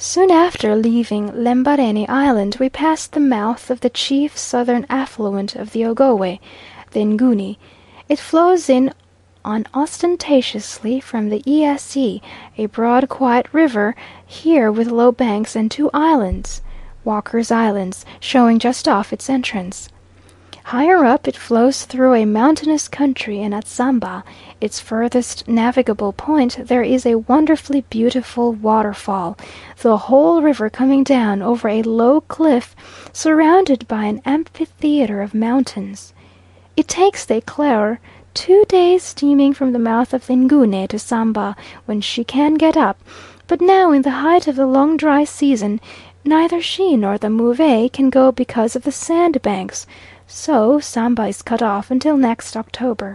Soon after leaving Lembarene Island we passed the mouth of the chief southern affluent of the Ogowe, the Nguni. It flows in unostentatiously from the Esie, a broad quiet river, here with low banks and two islands, Walker's Islands, showing just off its entrance. Higher up it flows through a mountainous country, and at Samba, its furthest navigable point, there is a wonderfully beautiful waterfall, the whole river coming down over a low cliff surrounded by an amphitheatre of mountains. It takes the Eclaireur 2 days steaming from the mouth of the Nguni to Samba when she can get up, but now in the height of the long dry season neither she nor the Move can go because of the sandbanks. So Samba is cut off until next October.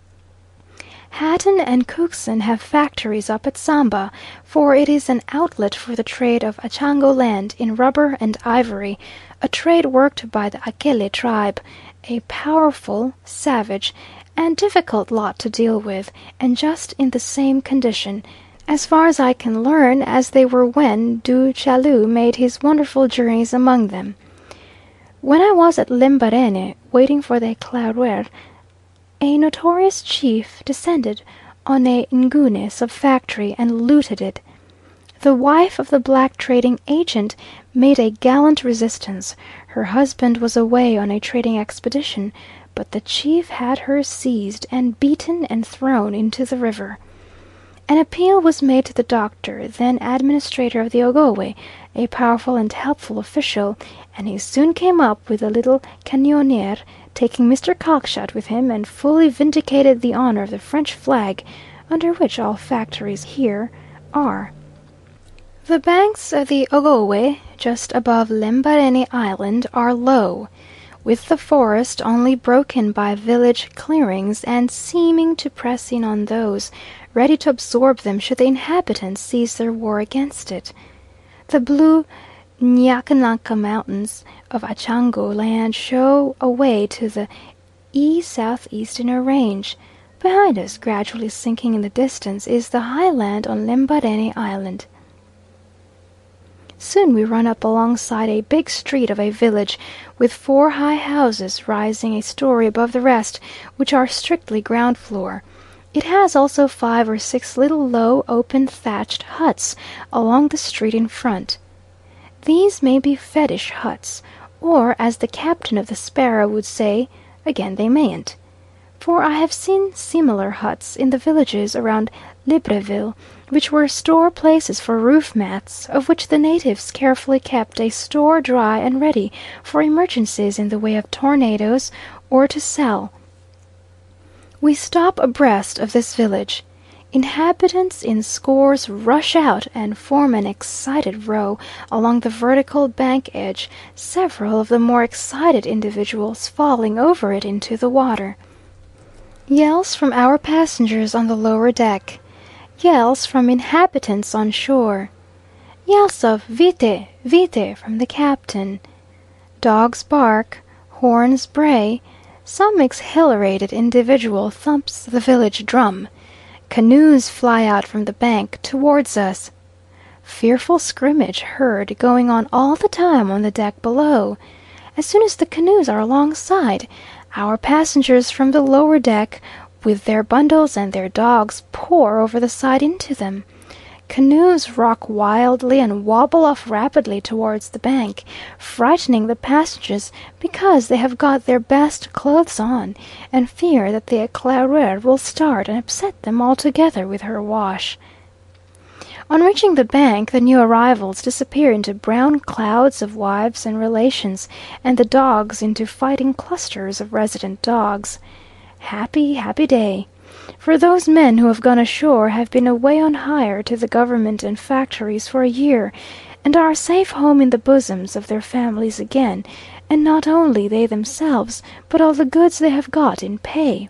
Hatton and Cookson have factories up at Samba, for it is an outlet for the trade of Achango land in rubber and ivory, a trade worked by the Akele tribe, a powerful, savage, and difficult lot to deal with, and just in the same condition, as far as I can learn, as they were when Du Chaillu made his wonderful journeys among them. When I was at Lembarene, waiting for the Eclaireur, a notorious chief descended on a Nguni sub factory and looted it. The wife of the black trading agent made a gallant resistance. Her husband was away on a trading expedition, but the chief had her seized and beaten and thrown into the river. An appeal was made to the doctor, then administrator of the Ogowe, a powerful and helpful official, and he soon came up with the little canonniere, taking Mr. Cockshut with him, and fully vindicated the honour of the French flag, under which all factories here are. The banks of the Ogowe, just above Lembarene Island, are low, with the forest only broken by village clearings, and seeming to press in on those, ready to absorb them should the inhabitants cease their war against it. The blue Nyakanaka mountains of Achango land show away to the southeast in a range. Behind us, gradually sinking in the distance, is the high land on Lembarene Island. Soon we run up alongside a big street of a village, with 4 high houses rising a story above the rest, which are strictly ground floor. It has also 5 or 6 little low, open, thatched huts along the street in front. These may be fetish huts, or, as the captain of the Sparrow would say, again they mayn't. For I have seen similar huts in the villages around Libreville, which were store places for roof mats, of which the natives carefully kept a store dry and ready for emergencies in the way of tornadoes, or to sell. We stop abreast of this village. Inhabitants in scores rush out and form an excited row along the vertical bank edge, several of the more excited individuals falling over it into the water. Yells from our passengers on the lower deck. Yells from inhabitants on shore. Yells of "Vite! Vite!" from the captain. Dogs bark, horns bray. Some exhilarated individual thumps the village drum. Canoes fly out from the bank towards us. Fearful scrimmage heard going on all the time on the deck below. As soon as the canoes are alongside, our passengers from the lower deck, with their bundles and their dogs, pour over the side into them. Canoes rock wildly and wobble off rapidly towards the bank, frightening the passengers because they have got their best clothes on, and fear that the Eclaireur will start and upset them altogether with her wash. On reaching the bank, the new arrivals disappear into brown clouds of wives and relations, and the dogs into fighting clusters of resident dogs. Happy, happy day! For those men who have gone ashore have been away on hire to the government and factories for a year, and are safe home in the bosoms of their families again, and not only they themselves, but all the goods they have got in pay.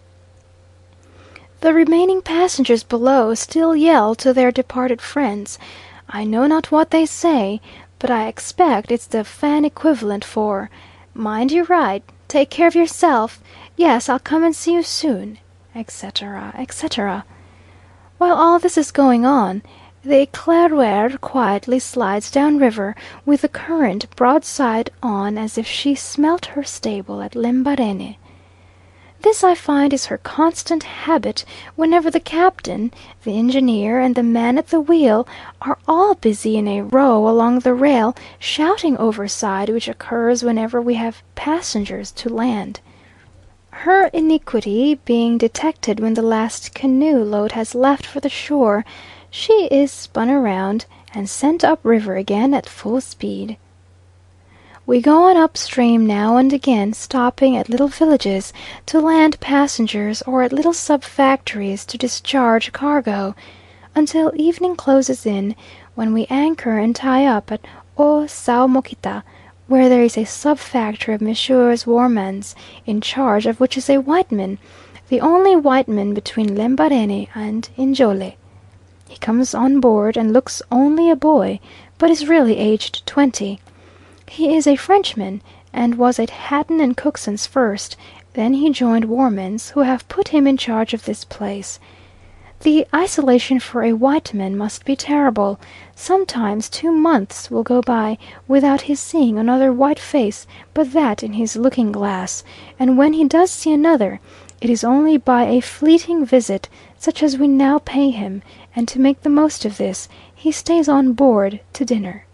The remaining passengers below still yell to their departed friends. I know not what they say, but I expect it's the Fan equivalent for "Mind you write," "Take care of yourself," "Yes, I'll come and see you soon," etc., etc. While all this is going on, The Eclaireur quietly slides down river with the current broadside on as if she smelt her stable at Lembarene. This I find is her constant habit whenever the captain, the engineer, and the man at the wheel are all busy in a row along the rail shouting overside, which occurs whenever we have passengers to land. Her iniquity being detected when the last canoe load has left for the shore, she is spun around and sent up river again at full speed. We go on upstream now and again, stopping at little villages to land passengers or at little sub factories to discharge cargo, until evening closes in, when we anchor and tie up at O Saomokita, where there is a sub factory of Messrs. Warmans, in charge of which is a white man, the only white man between Lembarene and Njole. He comes on board and looks only a boy, but is really aged 20. He is a Frenchman, and was at Hatton and Cookson's first, then he joined Warmans, who have put him in charge of this place. The isolation for a white man must be terrible. Sometimes 2 months will go by without his seeing another white face but that in his looking glass, and when he does see another, it is only by a fleeting visit, such as we now pay him, and to make the most of this, he stays on board to dinner.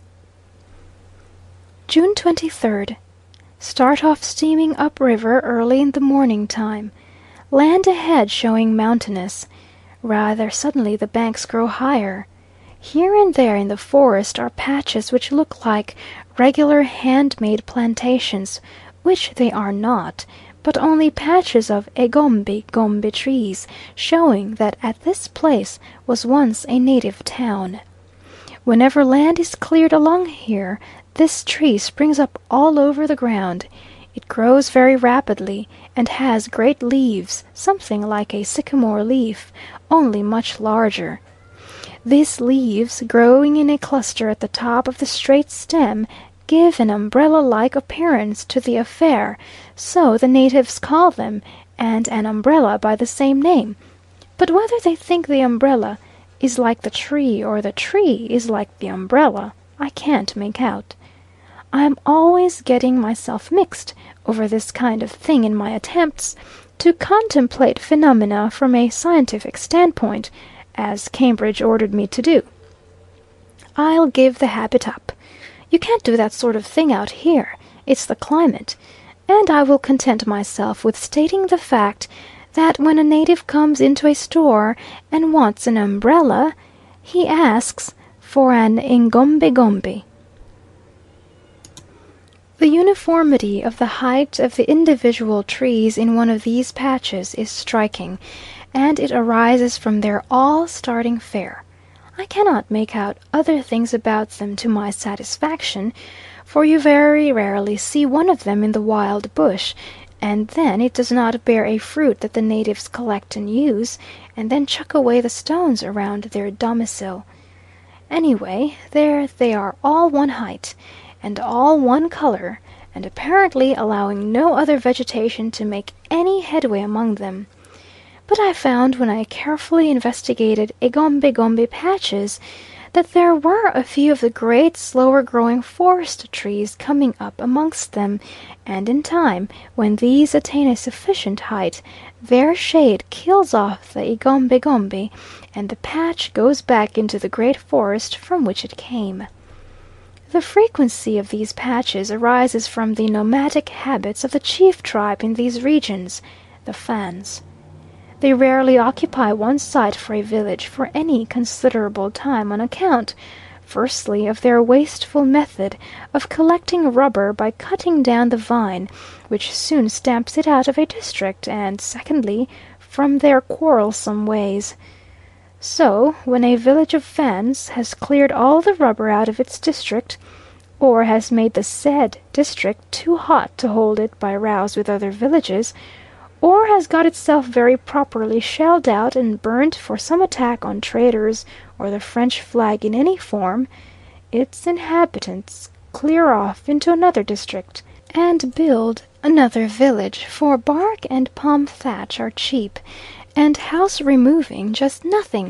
June 23rd. Start off steaming up river early in the morning time. Land ahead showing mountainous. Rather suddenly the banks grow higher. Here and there in the forest are patches which look like regular hand-made plantations, which they are not, but only patches of gombe trees, showing that at this place was once a native town. Whenever land is cleared along here, this tree springs up all over the ground. It grows very rapidly, and has great leaves, something like a sycamore leaf, only much larger. These leaves, growing in a cluster at the top of the straight stem, give an umbrella-like appearance to the affair, so the natives call them, and an umbrella by the same name. But whether they think the umbrella is like the tree, or the tree is like the umbrella, I can't make out. I am always getting myself mixed over this kind of thing in my attempts to contemplate phenomena from a scientific standpoint, as Cambridge ordered me to do. I'll give the habit up. You can't do that sort of thing out here. It's the climate. And I will content myself with stating the fact that when a native comes into a store and wants an umbrella, he asks for an ingombe. The uniformity of the height of the individual trees in one of these patches is striking, and it arises from their all starting fair. I cannot make out other things about them to my satisfaction, for you very rarely see one of them in the wild bush, and then it does not bear a fruit that the natives collect and use, and then chuck away the stones around their domicile. Anyway, there they are all one height, and all one colour, and apparently allowing no other vegetation to make any headway among them. But I found when I carefully investigated gombe patches that there were a few of the great slower growing forest trees coming up amongst them, and in time, when these attain a sufficient height, their shade kills off the gombe, and the patch goes back into the great forest from which it came. The frequency of these patches arises from the nomadic habits of the chief tribe in these regions, the Fans. They rarely occupy one site for a village for any considerable time on account, firstly, of their wasteful method of collecting rubber by cutting down the vine, which soon stamps it out of a district, and secondly, from their quarrelsome ways. So, when a village of Fans has cleared all the rubber out of its district, or has made the said district too hot to hold it by rows with other villages, or has got itself very properly shelled out and burnt for some attack on traders or the French flag in any form, its inhabitants clear off into another district, and build another village, for bark and palm thatch are cheap, and house removing just nothing,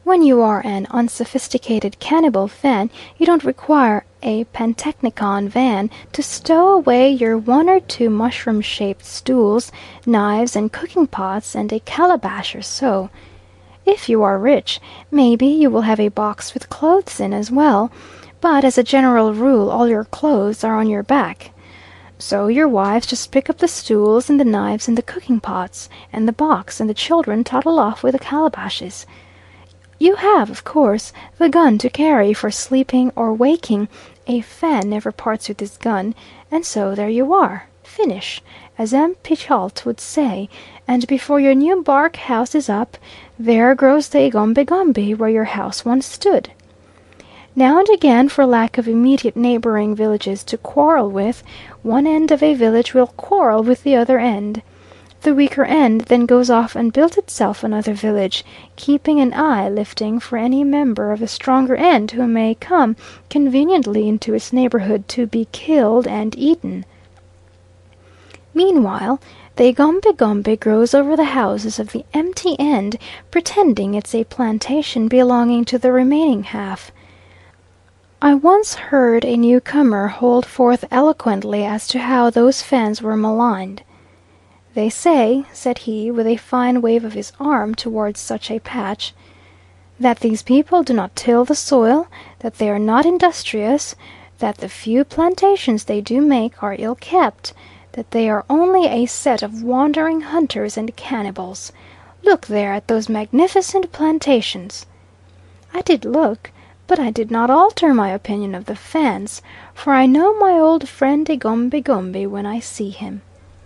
When you are an unsophisticated cannibal Fan, you don't require a pantechnicon van to stow away your one or two mushroom shaped stools, knives and cooking pots, and a calabash or so. If you are rich, maybe you will have a box with clothes in as well, but as a general rule all your clothes are on your back. So your wives just pick up the stools and the knives and the cooking pots, and the box, and the children toddle off with the calabashes. You have, of course, the gun to carry for sleeping or waking. A Fan never parts with his gun, and so there you are. Finish, as M. Pichault would say, and before your new bark house is up, there grows the Egombe Gombe where your house once stood. Now and again, for lack of immediate neighbouring villages to quarrel with, one end of a village will quarrel with the other end. The weaker end then goes off and builds itself another village, keeping an eye lifting for any member of the stronger end who may come conveniently into its neighbourhood to be killed and eaten. Meanwhile, the Egombe Gombe grows over the houses of the empty end, pretending it's a plantation belonging to the remaining half. I once heard a newcomer hold forth eloquently as to how those Fans were maligned. "They say," said he, with a fine wave of his arm towards such a patch, "that these people do not till the soil, that they are not industrious, that the few plantations they do make are ill kept, that they are only a set of wandering hunters and cannibals. Look there at those magnificent plantations." I did look, but I did not alter my opinion of the Fans, for I know my old friend Egombe Gombe when I see him.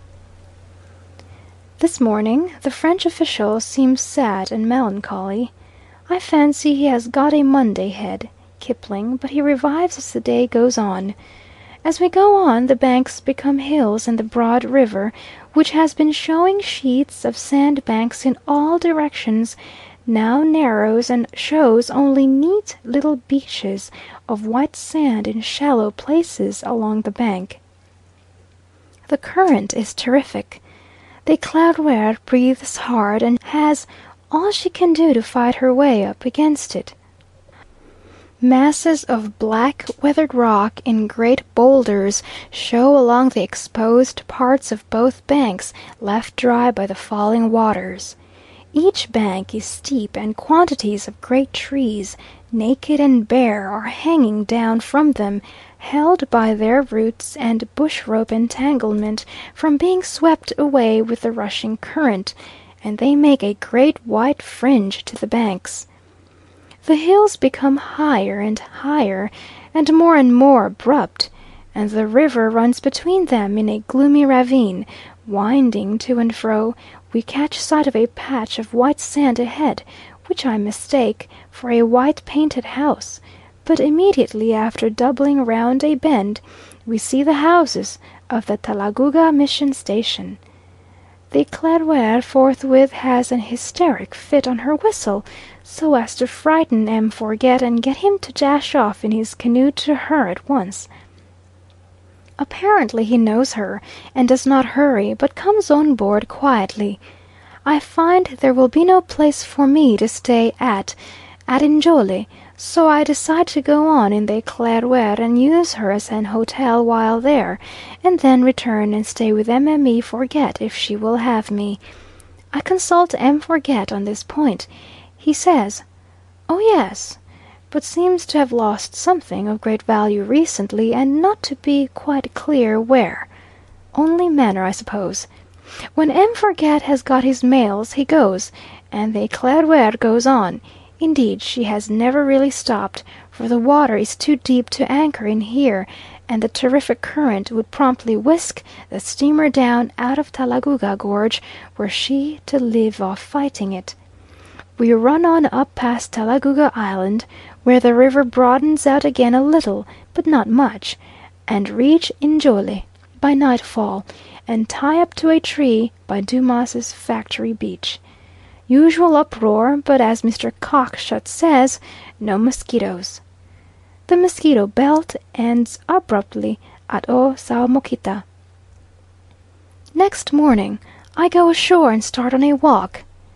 This morning the French official seems sad and melancholy. I fancy he has got a Monday head, Kipling, but he revives as the day goes on. As we go on, the banks become hills, and the broad river, which has been showing sheets of sand banks in all directions, now narrows and shows only neat little beaches of white sand in shallow places along the bank. The current is terrific. The Eclaireur breathes hard, and has all she can do to fight her way up against it. Masses of black weathered rock in great boulders show along the exposed parts of both banks left dry by the falling waters. Each bank is steep, and quantities of great trees, naked and bare, are hanging down from them, held by their roots and bush rope entanglement from being swept away with the rushing current, and they make a great white fringe to the banks. The hills become higher and more abrupt, and the river runs between them in a gloomy ravine, winding to and fro. We catch sight of a patch of white sand ahead, which I mistake for a white painted house, but immediately after doubling round a bend, we see the houses of the Talagouga mission station. The Eclaireur forthwith has an hysteric fit on her whistle, so as to frighten M. Forget and get him to dash off in his canoe to her at once. Apparently he knows her, and does not hurry, but comes on board quietly. I find there will be no place for me to stay at Njole, so I decide to go on in the Eclaireur and use her as an hotel while there, and then return and stay with Mme. Forget if she will have me. I consult M. Forget on this point. He says, "Oh yes," but seems to have lost something of great value recently, and not to be quite clear where. Only manner, I suppose. When M. Forget has got his mails he goes, and the Eclaireur goes on. Indeed, she has never really stopped, for the water is too deep to anchor in here, and the terrific current would promptly whisk the steamer down out of Talagouga Gorge, were she to leave off fighting it. We run on up past Talagouga Island, where the river broadens out again a little, but not much, and reach Njole by nightfall, and tie up to a tree by Dumas's Factory Beach. Usual uproar, but as Mr. Cockshut says, no mosquitoes. The mosquito belt ends abruptly at Saomokita. Next morning I go ashore and start on a walk.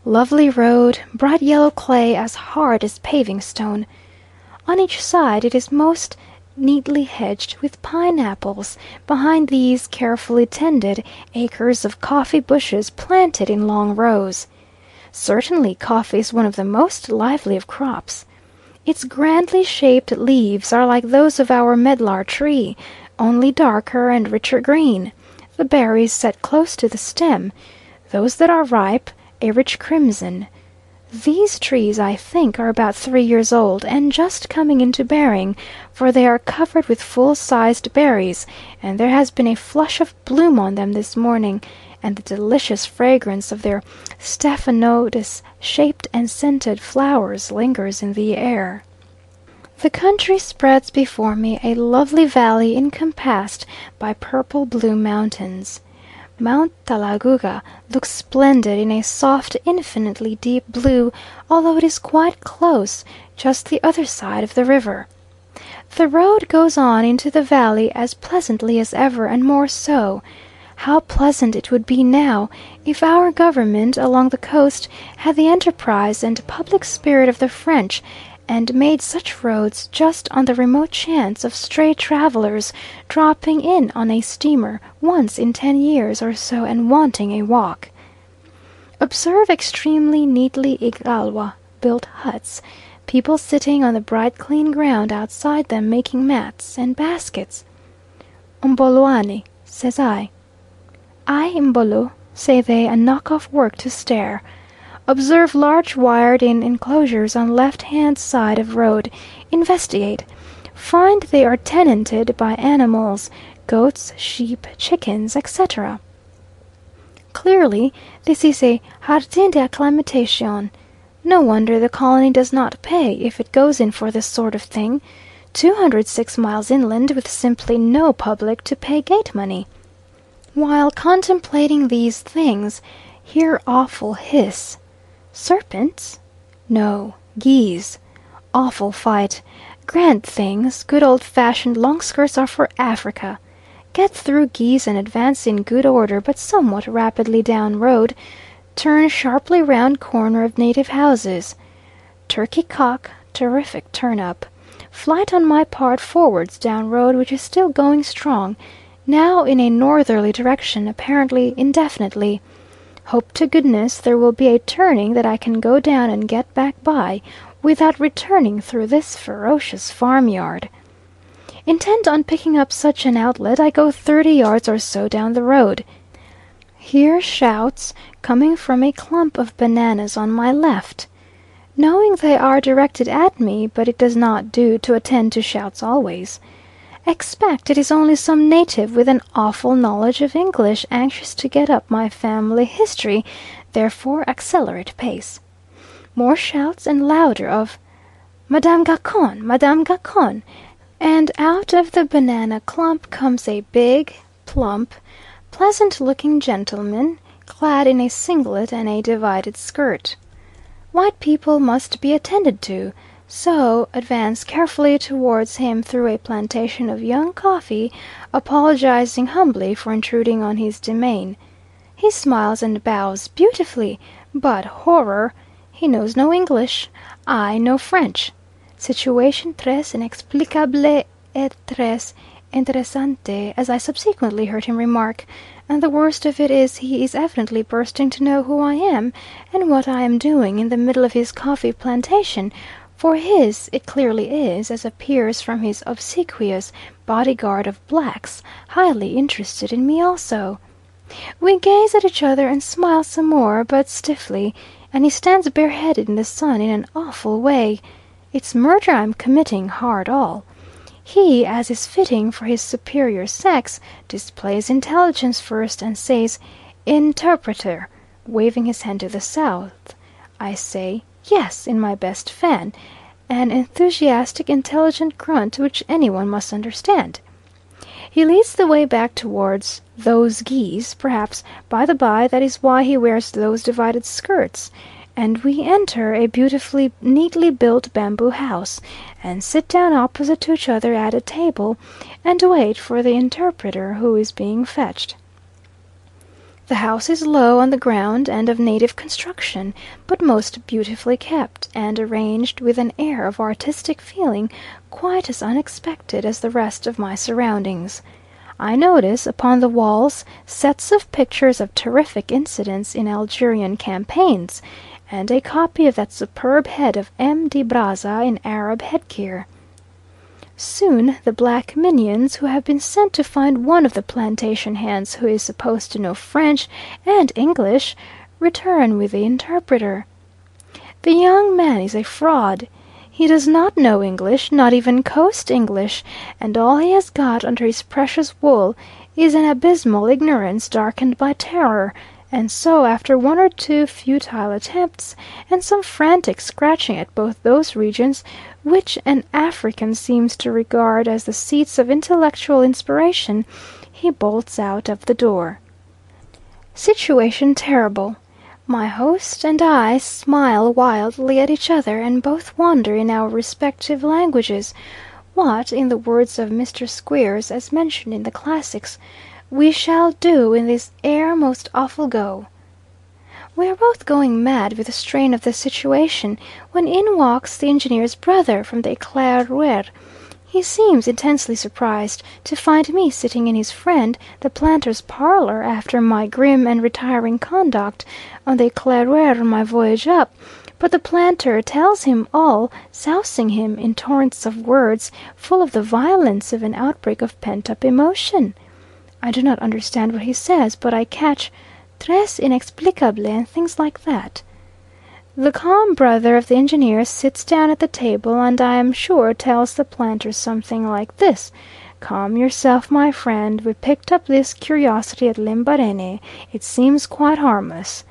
Lovely road, bright yellow clay as hard as paving stone. On each side it is most neatly hedged with pineapples, behind these carefully tended acres of coffee bushes planted in long rows. Certainly coffee is one of the most lively of crops. Its grandly shaped leaves are like those of our medlar tree, only darker and richer green, the berries set close to the stem, those that are ripe a rich crimson. These trees, I think, are about 3 years old, and just coming into bearing, for they are covered with full-sized berries, and there has been a flush of bloom on them this morning, and the delicious fragrance of their stephanotis-shaped and scented flowers lingers in the air. The country spreads before me a lovely valley encompassed by purple blue mountains. Mount Talagouga looks splendid in a soft, infinitely deep blue, although it is quite close, just the other side of the river. The road goes on into the valley as pleasantly as ever, and more so. How pleasant it would be now if our government along the coast had the enterprise and public spirit of the French, and made such roads just on the remote chance of stray travellers dropping in on a steamer once in 10 years or so and wanting a walk. Observe extremely neatly Igalwa built huts, people sitting on the bright clean ground outside them making mats and baskets. "Umboloani," says I. "Ay, Mbolo," say they, and knock off work to stare. Observe large wired in enclosures on left hand side of road. Investigate. Find they are tenanted by animals, goats, sheep, chickens, etc. Clearly this is a jardin d'acclimatation. No wonder the colony does not pay, if it goes in for this sort of thing. 206 miles inland, with simply no public to pay gate money. While contemplating these things, hear awful hiss. Serpents? No, geese. Awful fight. Grand things. Good old-fashioned long skirts are for Africa. Get through geese and advance in good order, but somewhat rapidly down road. Turn sharply round corner of native houses. Turkey cock, terrific turn up. Flight on my part forwards down road, which is still going strong, now in a northerly direction, apparently indefinitely. Hope to goodness there will be a turning that I can go down and get back by, without returning through this ferocious farmyard. Intent on picking up such an outlet, I go 30 yards or so down the road. Hear shouts coming from a clump of bananas on my left. Knowing they are directed at me, but it does not do to attend to shouts always. Expect it is only some native with an awful knowledge of English anxious to get up my family history, therefore accelerate pace. More shouts and louder of "Madame Gacon! Madame Gacon!" and out of the banana clump comes a big, plump, pleasant-looking gentleman, clad in a singlet and a divided skirt. White people must be attended to, so advance carefully towards him through a plantation of young coffee, apologizing humbly for intruding on his domain. He smiles and bows beautifully, but horror! He knows no English, I no French. Situation tres inexplicable et tres interessante, as I subsequently heard him remark, and the worst of it is he is evidently bursting to know who I am, and what I am doing in the middle of his coffee plantation, for his it clearly is, as appears from his obsequious bodyguard of blacks, highly interested in me also. We gaze at each other and smile some more, but stiffly, and he stands bareheaded in the sun in an awful way. It's murder I'm committing, hard all. He, as is fitting for his superior sex, displays intelligence first, and says, "Interpreter," waving his hand to the south. I say, "Yes," in my best Fan, an enthusiastic, intelligent grunt which anyone must understand. He leads the way back towards "those geese," perhaps, by the by, that is why he wears those divided skirts, and we enter a beautifully neatly built bamboo house, and sit down opposite to each other at a table, and wait for the interpreter who is being fetched. The house is low on the ground, and of native construction, but most beautifully kept, and arranged with an air of artistic feeling quite as unexpected as the rest of my surroundings. I notice upon the walls sets of pictures of terrific incidents in Algerian campaigns, and a copy of that superb head of M. de Brazza in Arab headgear. Soon the black minions, who have been sent to find one of the plantation hands who is supposed to know French and English, return with the interpreter. The young man is a fraud. He does not know English, not even coast English, and all he has got under his precious wool is an abysmal ignorance darkened by terror, and so after one or two futile attempts, and some frantic scratching at both those regions which an African seems to regard as the seats of intellectual inspiration, he bolts out of the door. Situation terrible. My host and I smile wildly at each other, and both wonder in our respective languages what, in the words of Mr. Squeers, as mentioned in the classics, we shall do in this ere most awful go. We are both going mad with the strain of the situation, when in walks the engineer's brother from the Eclaireur. He seems intensely surprised to find me sitting in his friend the planter's parlour after my grim and retiring conduct on the Eclaireur on my voyage up, but the planter tells him all, sousing him in torrents of words full of the violence of an outbreak of pent-up emotion. I do not understand what he says, but I catch "tres inexplicable" and things like that. The calm brother of the engineer sits down at the table, and I am sure tells the planter something like this: "Calm yourself, my friend. We picked up this curiosity at Lembarene. It seems quite harmless."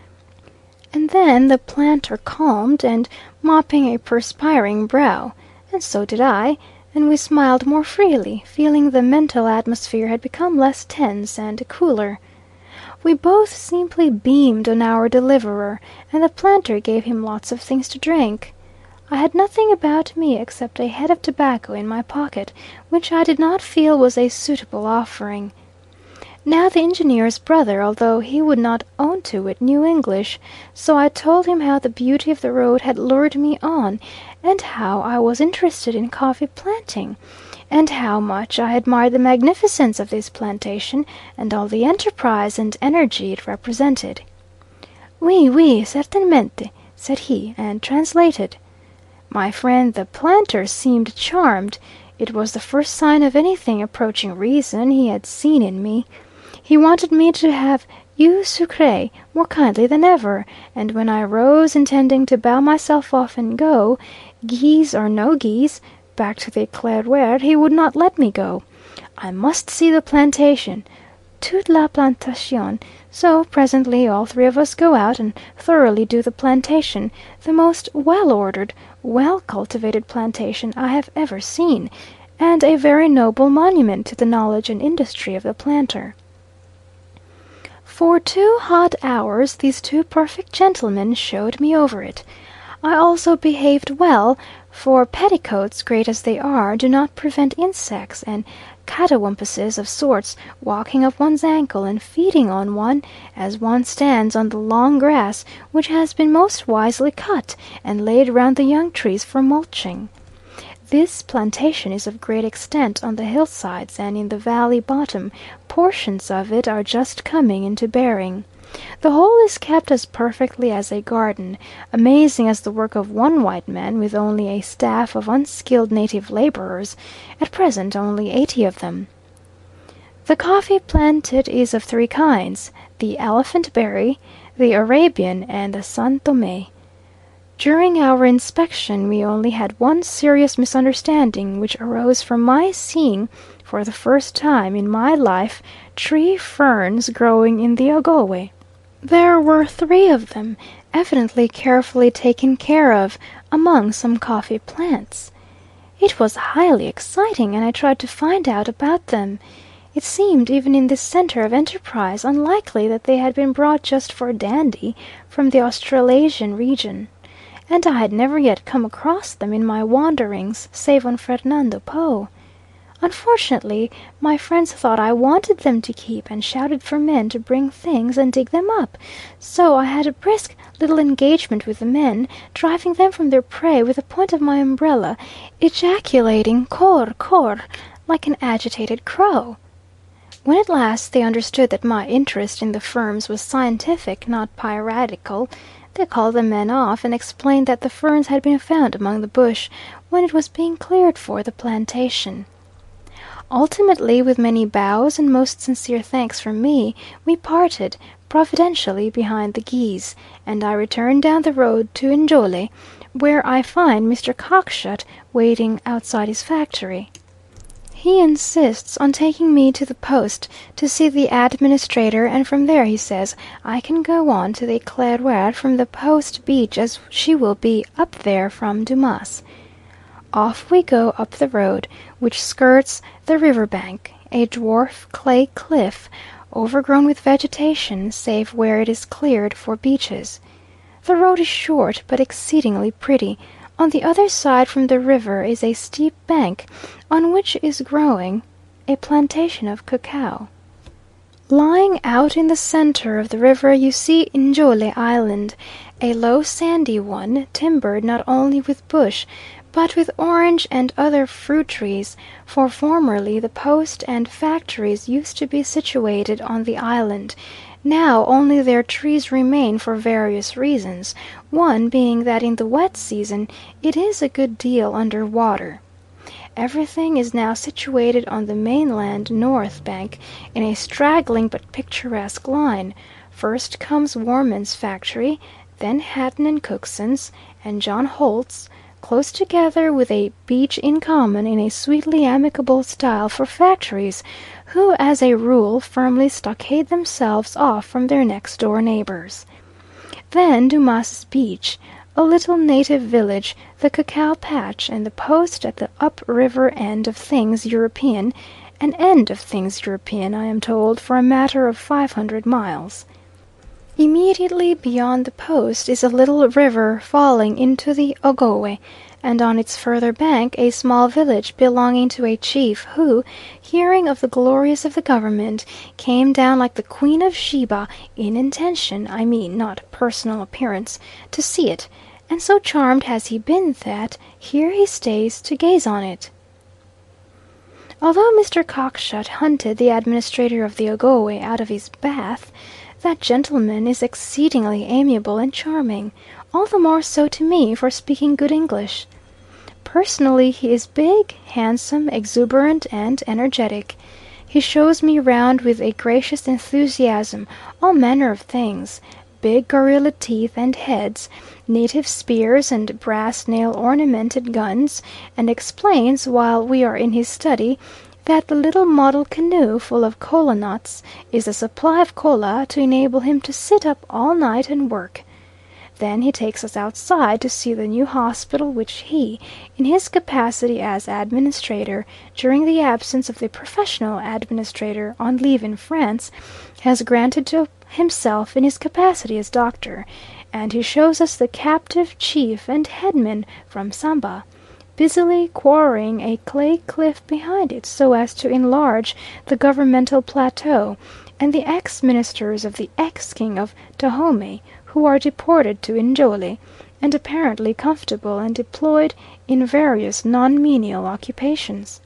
And then the planter calmed, and mopping a perspiring brow, and so did I, and we smiled more freely, feeling the mental atmosphere had become less tense and cooler. We both simply beamed on our deliverer, and the planter gave him lots of things to drink. I had nothing about me except a head of tobacco in my pocket, which I did not feel was a suitable offering. Now the engineer's brother, although he would not own to it, knew English, so I told him how the beauty of the road had lured me on, and how I was interested in coffee planting, and how much I admired the magnificence of this plantation, and all the enterprise and energy it represented. "Oui, oui, certainement," said he, and translated. My friend the planter seemed charmed. It was the first sign of anything approaching reason he had seen in me. He wanted me to have eau sucrée more kindly than ever, and when I rose intending to bow myself off and go, geese or no geese, back to the Eclaireur, he would not let me go. I must see the plantation, toute la plantation. So presently all three of us go out and thoroughly do the plantation, the most well-ordered, well-cultivated plantation I have ever seen, and a very noble monument to the knowledge and industry of the planter. For 2 hot hours these two perfect gentlemen showed me over it. I also behaved well, for petticoats, great as they are, do not prevent insects and catawumpuses of sorts walking up one's ankle and feeding on one, as one stands on the long grass which has been most wisely cut and laid round the young trees for mulching. This plantation is of great extent on the hillsides, and in the valley bottom portions of it are just coming into bearing. The whole is kept as perfectly as a garden, amazing as the work of one white man, with only a staff of unskilled native labourers, at present only 80 of them. The coffee planted is of 3 kinds, the elephant berry, the Arabian, and the San Thome. During our inspection we only had one serious misunderstanding, which arose from my seeing, for the first time in my life, tree ferns growing in the Ogowe. There were 3 of them, evidently carefully taken care of, among some coffee plants. It was highly exciting, and I tried to find out about them. It seemed, even in this centre of enterprise, unlikely that they had been brought just for dandy from the Australasian region, and I had never yet come across them in my wanderings, save on Fernando Po. Unfortunately, my friends thought I wanted them to keep, and shouted for men to bring things and dig them up, so I had a brisk little engagement with the men, driving them from their prey with the point of my umbrella, ejaculating "Kor, kor," like an agitated crow. When at last they understood that my interest in the ferns was scientific, not piratical, they called the men off, and explained that the ferns had been found among the bush when it was being cleared for the plantation. Ultimately, with many bows and most sincere thanks from me, we parted, providentially behind the geese, and I returned down the road to Njole, where I find Mr. Cockshut waiting outside his factory. He insists on taking me to the Post to see the administrator, and from there, he says, I can go on to the Eclaireur from the Post beach as she will be up there from Dumas. Off we go up the road, which skirts the river bank, a dwarf clay cliff, overgrown with vegetation, save where it is cleared for beaches. The road is short, but exceedingly pretty. On the other side from the river is a steep bank, on which is growing a plantation of cacao. Lying out in the centre of the river you see Njole Island, a low sandy one, timbered not only with bush, but with orange and other fruit trees, for formerly the post and factories used to be situated on the island. Now only their trees remain for various reasons, one being that in the wet season it is a good deal under water. Everything is now situated on the mainland north bank, in a straggling but picturesque line. First comes Worman's factory, then Hatton and Cookson's, and John Holt's, close together with a beach in common in a sweetly amicable style for factories, who as a rule firmly stockade themselves off from their next door neighbours. Then Dumas's beach, a little native village, the cacao patch, and the post at the up river end of things European, an end of things European, I am told, for a matter of 500 miles. Immediately beyond the post is a little river falling into the Ogowe, and on its further bank a small village belonging to a chief who, hearing of the glories of the government, came down like the Queen of Sheba in intention, I mean not personal appearance, to see it, and so charmed has he been that here he stays to gaze on it. Although Mr. Cockshut hunted the administrator of the Ogowe out of his bath, that gentleman is exceedingly amiable and charming, all the more so to me for speaking good English. Personally he is big, handsome, exuberant, and energetic. He shows me round with a gracious enthusiasm all manner of things, big gorilla teeth and heads, native spears and brass nail ornamented guns, and explains, while we are in his study, that the little model canoe full of kola nuts is a supply of kola to enable him to sit up all night and work. Then he takes us outside to see the new hospital which he, in his capacity as administrator, during the absence of the professional administrator on leave in France, has granted to himself in his capacity as doctor, and he shows us the captive chief and headman from Samba, busily quarrying a clay cliff behind it so as to enlarge the governmental plateau, and the ex-ministers of the ex-king of Dahomey, who are deported to Njole, and apparently comfortable and deployed in various non-menial occupations.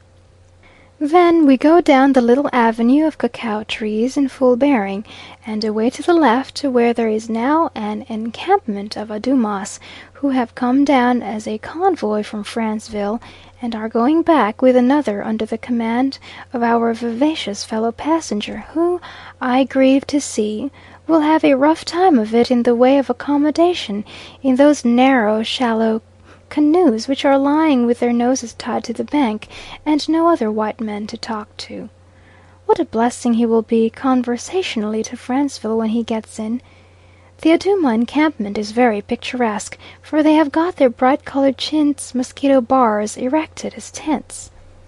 Then we go down the little avenue of cacao trees in full bearing, and away to the left to where there is now an encampment of Adumas, who have come down as a convoy from Franceville, and are going back with another under the command of our vivacious fellow passenger, who, I grieve to see, will have a rough time of it in the way of accommodation in those narrow, shallow canoes which are lying with their noses tied to the bank, and no other white men to talk to. What a blessing he will be conversationally to Franceville when he gets in. The Aduma encampment is very picturesque, for they have got their bright-coloured chintz mosquito bars erected as tents.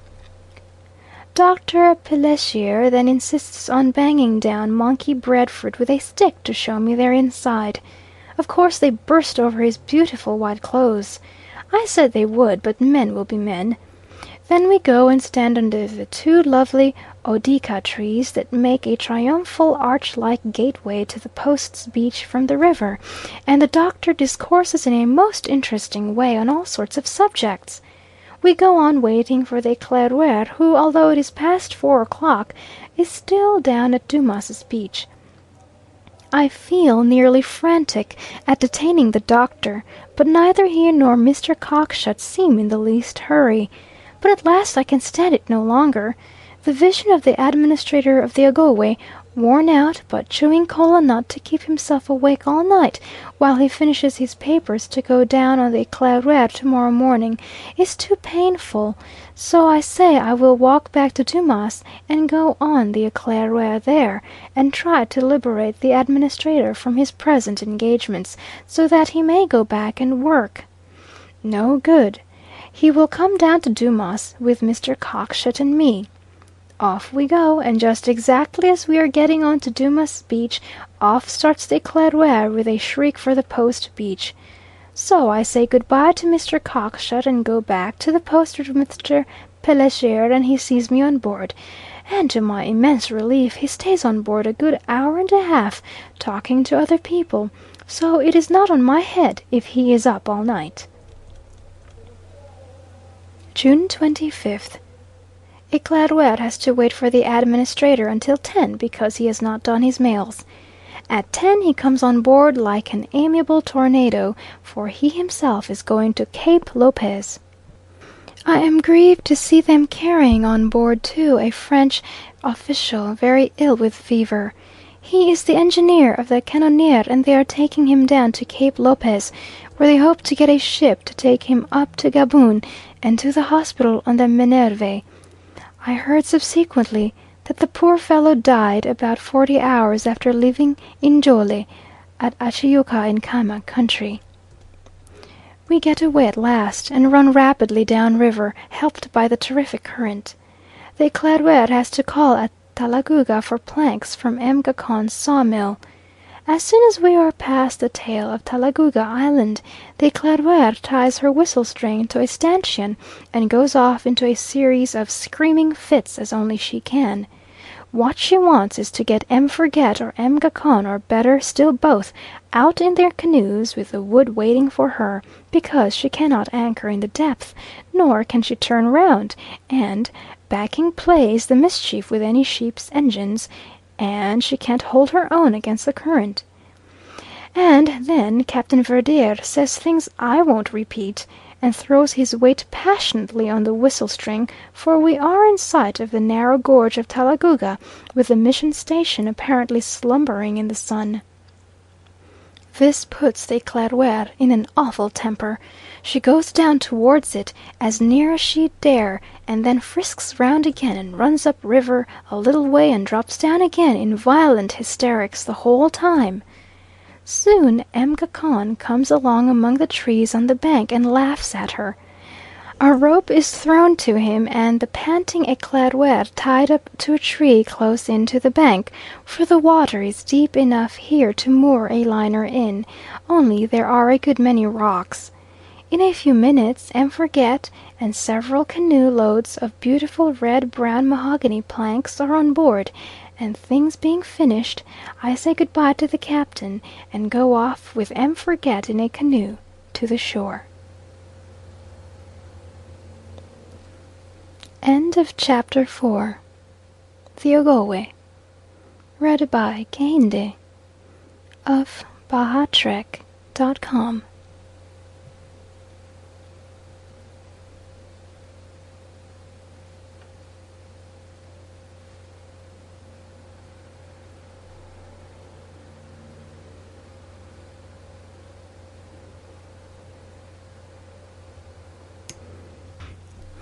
Dr. Pelessier then insists on banging down monkey breadfruit with a stick to show me their inside. Of course they burst over his beautiful white clothes. I said they would, but men will be men. Then we go and stand under the two lovely Odeaka trees that make a triumphal arch like gateway to the Post's beach from the river, and the Doctor discourses in a most interesting way on all sorts of subjects. We go on waiting for the Eclaireur, who, although it is past 4 o'clock, is still down at Dumas's beach. I feel nearly frantic at detaining the Doctor, but neither he nor Mr. Cockshut seem in the least hurry. But at last I can stand it no longer. The vision of the administrator of the Ogowe, worn out, but chewing kola nut to keep himself awake all night while he finishes his papers to go down on the Eclaireur tomorrow morning, is too painful, so I say I will walk back to Dumas and go on the Eclaireur there, and try to liberate the administrator from his present engagements, so that he may go back and work. No good. He will come down to Dumas with Mr. Cockshut and me. Off we go, and just exactly as we are getting on to Dumas beach, off starts the Eclaireur with a shriek for the Post beach. So I say good-bye to Mr. Cockshut and go back to the Post with Mr. Pelessier, and he sees me on board, and to my immense relief he stays on board a good hour and a half, talking to other people, so it is not on my head if he is up all night. June 25th. Eclaireur has to wait for the administrator until 10 because he has not done his mails. At 10 he comes on board like an amiable tornado, for he himself is going to Cape Lopez. I am grieved to see them carrying on board too a French official very ill with fever. He is the engineer of the Canoniere, and they are taking him down to Cape Lopez, where they hope to get a ship to take him up to Gaboon and to the hospital on the Minerve. I heard subsequently that the poor fellow died about 40 hours after leaving Njole at Achiyuka in Kama country. We get away at last, and run rapidly down river, helped by the terrific current. The Eclaireur has to call at Talagouga for planks from M. Gacon's sawmill. As soon as we are past the tail of Talagouga Island, the Eclaireur ties her whistle string to a stanchion, and goes off into a series of screaming fits as only she can. What she wants is to get M. Forget or M. Gacon, or better still both, out in their canoes with the wood waiting for her, because she cannot anchor in the depth, nor can she turn round, and backing plays the mischief with any ship's engines, and she can't hold her own against the current. And then Captain Verdier says things I won't repeat, and throws his weight passionately on the whistle string, for we are in sight of the narrow gorge of Talagouga, with the mission station apparently slumbering in the sun. This puts the Eclaireur in an awful temper. She goes down towards it as near as she dare, and then frisks round again and runs up river a little way and drops down again in violent hysterics the whole time. Soon M. Gacon comes along among the trees on the bank and laughs at her. A rope is thrown to him, and the panting Eclaireur tied up to a tree close in to the bank, for the water is deep enough here to moor a liner in, only there are a good many rocks. In a few minutes M. Forget and several canoe loads of beautiful red-brown mahogany planks are on board, and things being finished, I say good-bye to the captain, and go off with M. Forget in a canoe to the shore. End of chapter 4. The Ogowe. Read by Kehinde of bahatrek.com.